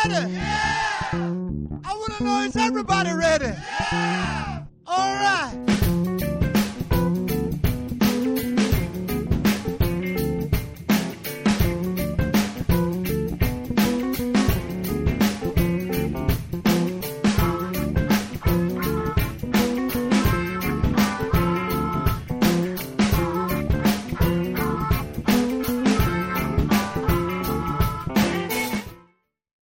ready? Yeah. I want to know, is everybody ready? Yeah. All right.